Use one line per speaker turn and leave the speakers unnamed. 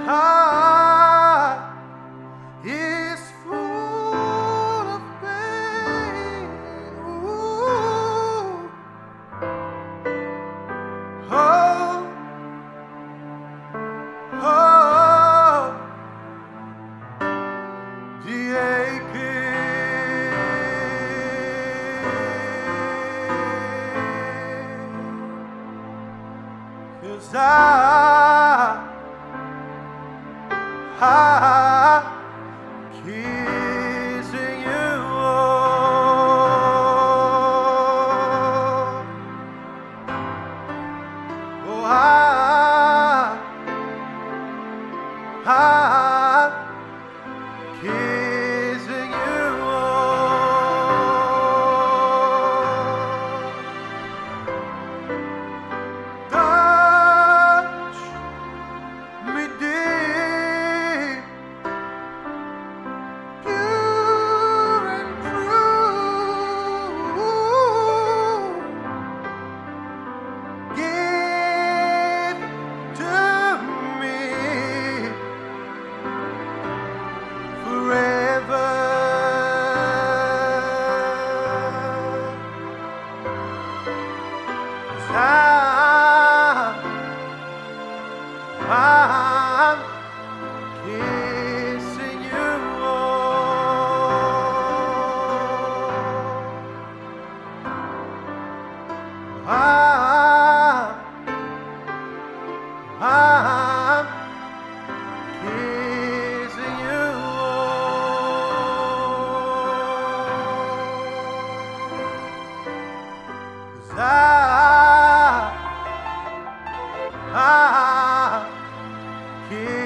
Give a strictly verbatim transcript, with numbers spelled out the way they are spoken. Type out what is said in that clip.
heart is full of pain. Ooh. Oh, oh, the aching, 'cause I, I kissing you. Oh, I, I'm kissing you. Touch me deep, pure and true. Give to me forever. 'Cause I'm, I'm kissing you. 'Cause I'm, I'm kissing you. 'Cause I, I'm kissing